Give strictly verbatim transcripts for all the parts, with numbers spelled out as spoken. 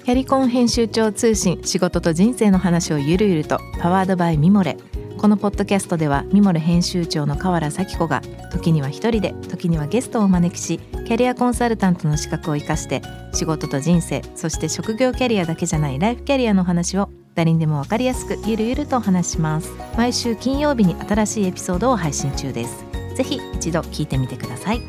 キャリコン編集長通信、仕事と人生の話をゆるゆると、パワードバイミモレ。このポッドキャストではミモレ編集長の河原咲子が時には一人で、時にはゲストをお招きし、キャリアコンサルタントの資格を生かして仕事と人生、そして職業キャリアだけじゃないライフキャリアの話を誰にでも分かりやすくゆるゆるとお話します。毎週金曜日に新しいエピソードを配信中です。ぜひ一度聞いてみてください。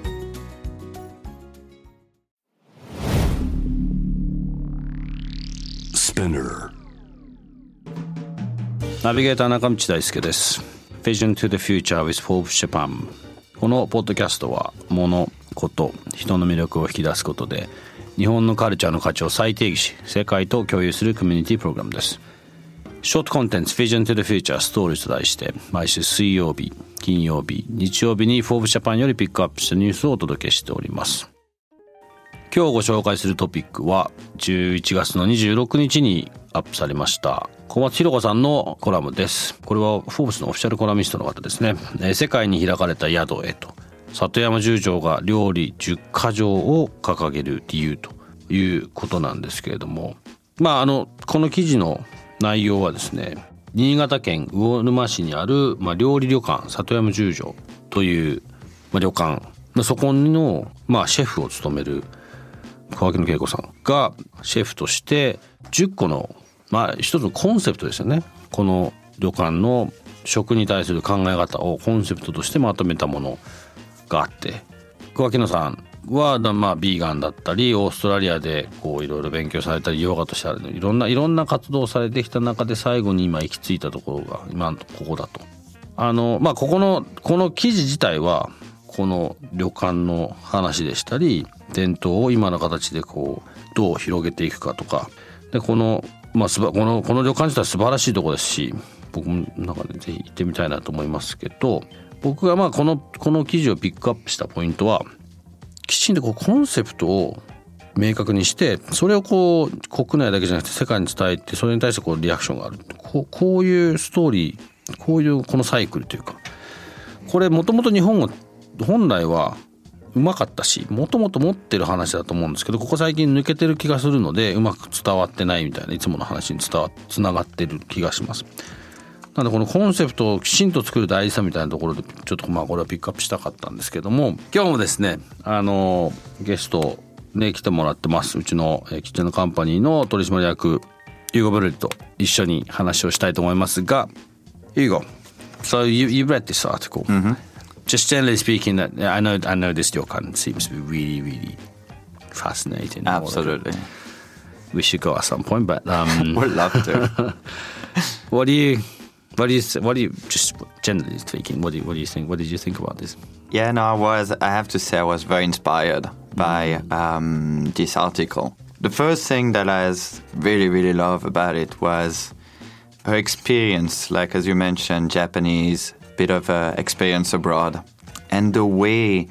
ナビゲーター中道大輔です。 Vision to the Future with Forbes Japan。 このポッドキャストは物、こと、人の魅力を引き出すことで日本のカルチャーの価値を再定義し、世界と共有するコミュニティプログラムです。ショートコンテンツ Vision to the Future Stories と題して毎週水曜日、金曜日、日曜日に Forbes Japan よりピックアップしたニュースをお届けしております。今日ご紹介するトピックはじゅういちがつのにじゅうろくにちにアップされました小松弘子さんのコラムです。これはフォーブスのオフィシャルコラミストの方ですね。世界に開かれた宿へと、里山十条が料理じゅっかじょうを掲げる理由ということなんですけれども、まああのこの記事の内容はですね、新潟県魚沼市にある、まあ、料理旅館里山十条という、まあ、旅館、まあ、そこの、まあ、シェフを務める川木野恵子さんがシェフとしてじゅっこの、まあ、一つのコンセプトですよね。この旅館の食に対する考え方をコンセプトとしてまとめたものがあって、川木野さんは、まあ、ビーガンだったりオーストラリアでこういろいろ勉強されたりヨガとしていろんないろんな活動をされてきた中で最後に今行き着いたところが今のここだと。あの、まあ、ここのこの記事自体はこの旅館の話でしたり、伝統を今の形でこうどう広げていくかとかで、この、まあ、このこの旅館自体は素晴らしいところですし、僕もなんかねぜひ行ってみたいなと思いますけど、僕がまあこのこの記事をピックアップしたポイントは、きちんとこうコンセプトを明確にして、それをこう国内だけじゃなくて世界に伝えて、それに対してこうリアクションがある、こう、こういうストーリー、こういうこのサイクルというか、これもともと日本は本来はうまかったし、もともと持ってる話だと思うんですけど、ここ最近抜けてる気がするのでうまく伝わってないみたいな、いつもの話に伝わつながってる気がします。なのでこのコンセプトをきちんと作る大事さみたいなところでちょっとまあこれはピックアップしたかったんですけども、今日もですねあのゲストね来てもらってます。うちのキッチンのカンパニーの取締役ユーゴ・ブルリと一緒に話をしたいと思いますが、ユーゴ、So you, you read this article、mm-hmm.Just generally speaking, that I know I know this ryokan seems to be really, really fascinating. Absolutely. We should go at some point, but um, we'd love to. what do you, what do you, what do you, just generally speaking, what do you, what do you think? What did you think about this? Yeah, no, I was. I have to say, I was very inspired by um, this article. The first thing that I really, really love about it was her experience, like as you mentioned, Japanese. Bit of uh, experience abroad, and the way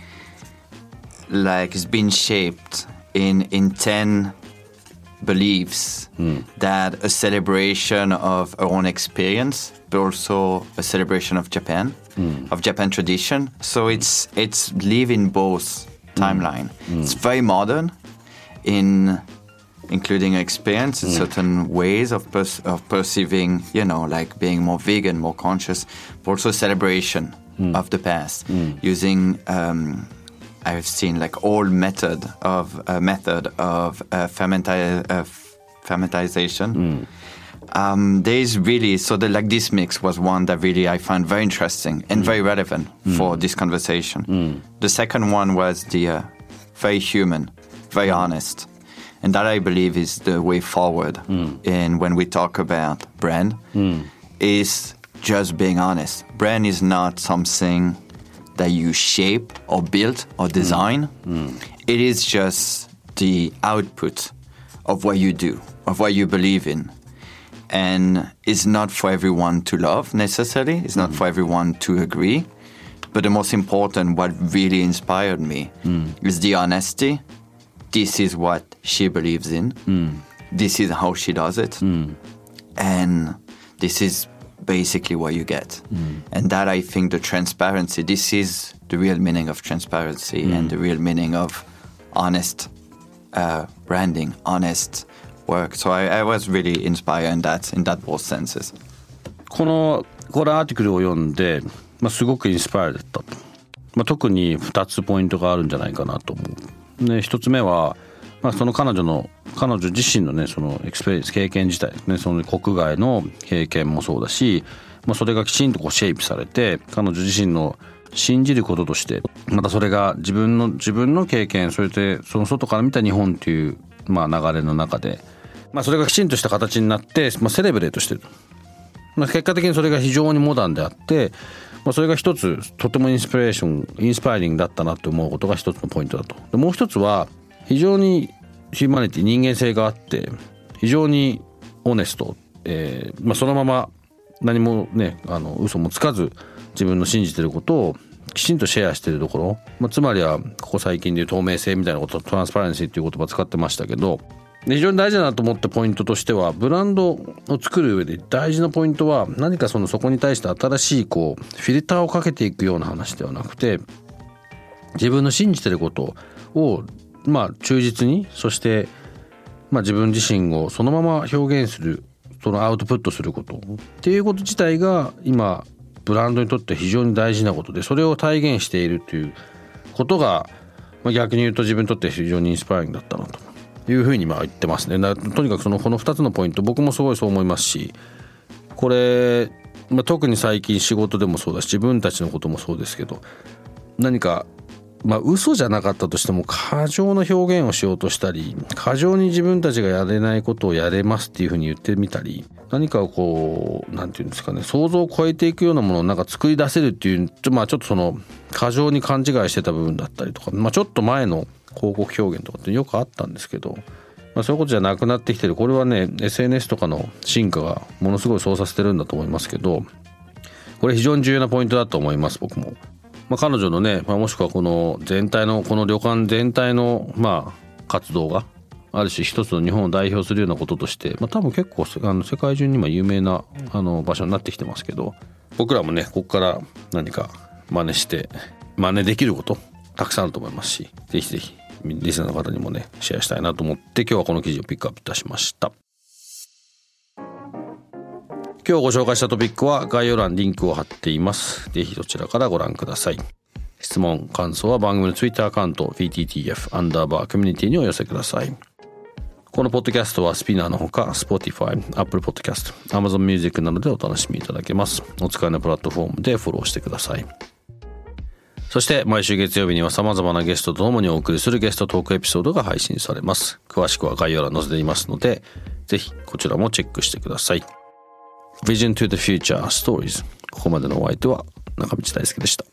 like it's been shaped in in ten beliefs mm. that a celebration of our own experience, but also a celebration of Japan, mm. of Japan tradition. So it's it's living both timeline. Mm. It's very modern in including experience in mm. certain ways of pers- of perceiving, you know, like being more vegan, more conscious, but also celebration mm. of the past, mm. using um, I've seen like old method of uh, method of uh, fermenti- uh, fermentization. Mm. Um, there is really so the like this mix was one that really I found very interesting and mm. very relevant mm. for this conversation. Mm. The second one was the uh, very human, very honest. And that I believe is the way forward. Mm. And when we talk about brand, mm. is just being honest. Brand is not something that you shape or build or design. Mm. Mm. It is just the output of what you do, of what you believe in. And it's not for everyone to love necessarily. It's not mm. for everyone to agree. But the most important, what really inspired me mm. is the honesty. This is what she believes in. Mm. This is how she does it. Mm. And this is basically what you get. Mm. And that, I think, the transparency, this is the real meaning of transparency mm. and the real meaning of honest uh, branding, honest work. So I, I was really inspired in that, in that both senses. このこれアーティクルを読んで、まあ、すごくインスパイアだったと、まあ、特にふたつポイントがあるんじゃないかなと思う。でひとつめは、まあ、その彼女の彼女自身のねそのエクスペリエンス経験自体ね、その国外の経験もそうだし、まあ、それがきちんとこうシェイプされて彼女自身の信じることとしてまたそれが自分の自分の経験、それでその外から見た日本という、まあ、流れの中で、まあ、それがきちんとした形になって、まあ、セレブレートしてる、まあ、結果的にそれが非常にモダンであって、まあ、それが一つとてもインスピレーションインスパイリングだったなと思うことが一つのポイントだと。でもう一つは非常にヒューマニティ人間性があって非常にオネスト、えーまあ、そのまま何もねあの嘘もつかず自分の信じてることをきちんとシェアしているところ、まあ、つまりはここ最近でいう透明性みたいなこと、トランスパレンシーっていう言葉を使ってましたけど、非常に大事だなと思ったポイントとしては、ブランドを作る上で大事なポイントは何かそのそこに対して新しいこうフィルターをかけていくような話ではなくて、自分の信じてることをまあ忠実に、そしてまあ自分自身をそのまま表現する、そのアウトプットすることっていうこと自体が今ブランドにとって非常に大事なことで、それを体現しているということが、まあ、逆に言うと自分にとって非常にインスパイアリングだったなというふうにまあ言ってますね。だとにかくそのこのふたつのポイント、僕もすごいそう思いますし、これ、まあ、特に最近仕事でもそうだし自分たちのこともそうですけど、何かまあ嘘じゃなかったとしても過剰な表現をしようとしたり、過剰に自分たちがやれないことをやれますっていうふうに言ってみたり、何かをこうなんていうんですかね、想像を超えていくようなものをなんか作り出せるっていう、まあちょっとその過剰に勘違いしてた部分だったりとか、まあちょっと前の広告表現とかってよくあったんですけど、まあ、そういうことじゃなくなってきてる。これはね エスエヌエス とかの進化がものすごいそうさせてるんだと思いますけど、これ非常に重要なポイントだと思います。僕も、まあ、彼女のね、まあ、もしくはこの全体のこの旅館全体のまあ活動がある種一つの日本を代表するようなこととして、まあ、多分結構あの世界中に今有名なあの場所になってきてますけど、僕らもねここから何か真似して真似できることたくさんあると思いますし、ぜひぜひリスナーの方にもねシェアしたいなと思って今日はこの記事をピックアップいたしました。今日ご紹介したトピックは概要欄にリンクを貼っています。ぜひそちらからご覧ください。質問感想は番組のツイッターアカウント ピーティーティーエフ アンダーバーコミュニティにお寄せください。このポッドキャストはスピナーのほか Spotify、Apple Podcast、Amazon Music などでお楽しみいただけます。お使いのプラットフォームでフォローしてください。そして毎週月曜日には様々なゲストと共にお送りするゲストトークエピソードが配信されます。詳しくは概要欄に載せていますので、ぜひこちらもチェックしてください。Vision to the Future Stories。ここまでのお相手は中道大輔でした。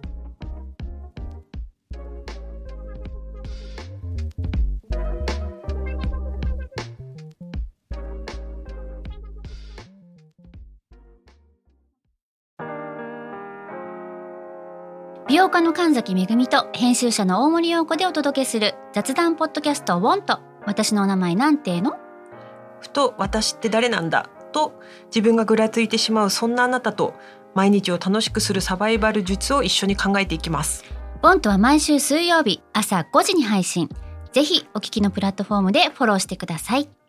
美容家の神崎めぐみと編集者の大森洋子でお届けする雑談ポッドキャストウォント。私のお名前なんていうの？ ふと私って誰なんだと自分がぐらついてしまうそんなあなたと毎日を楽しくするサバイバル術を一緒に考えていきます。 ウォントは毎週水曜日朝ごじに配信。ぜひお聞きのプラットフォームでフォローしてください。